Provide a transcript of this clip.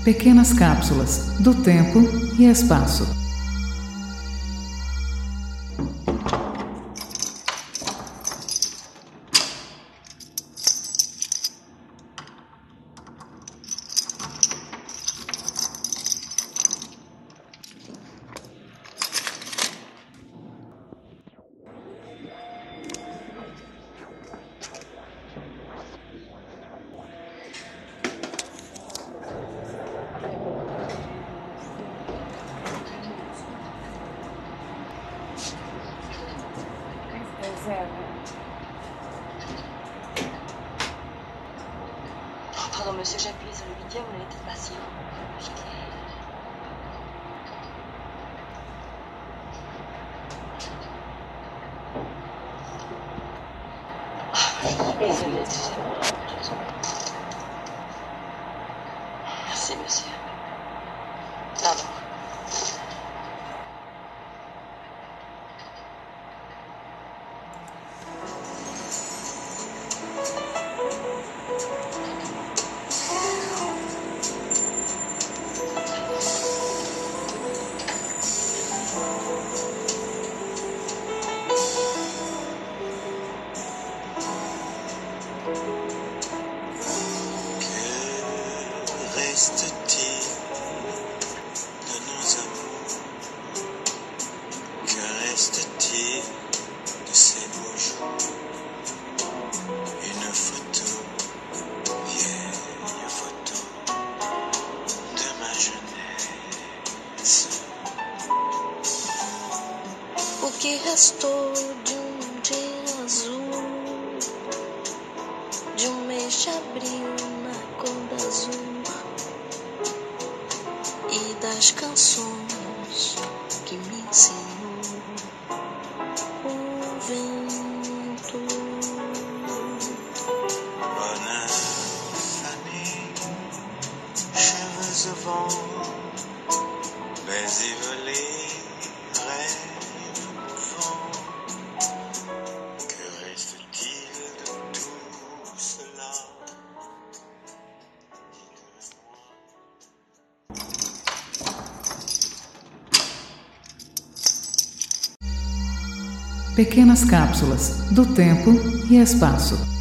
Pequenas cápsulas do tempo e espaço. Pardon, monsieur, j'ai appuyé sur le 8e, on était patient. Désolée, merci, monsieur. Pardon. Que reste-t-il de nos amours? Que reste-t-il de ces beaux jours? Une photo, vieille photo de ma jeunesse. O que restou de dia azul, de mês de abril na cor da azul, e das canções que me ensinou o vento. Bonheur fané, cheveux au vent, baisers volés, rêves mouvants. Que reste-t-il de tout cela? Pequenas cápsulas do tempo e espaço.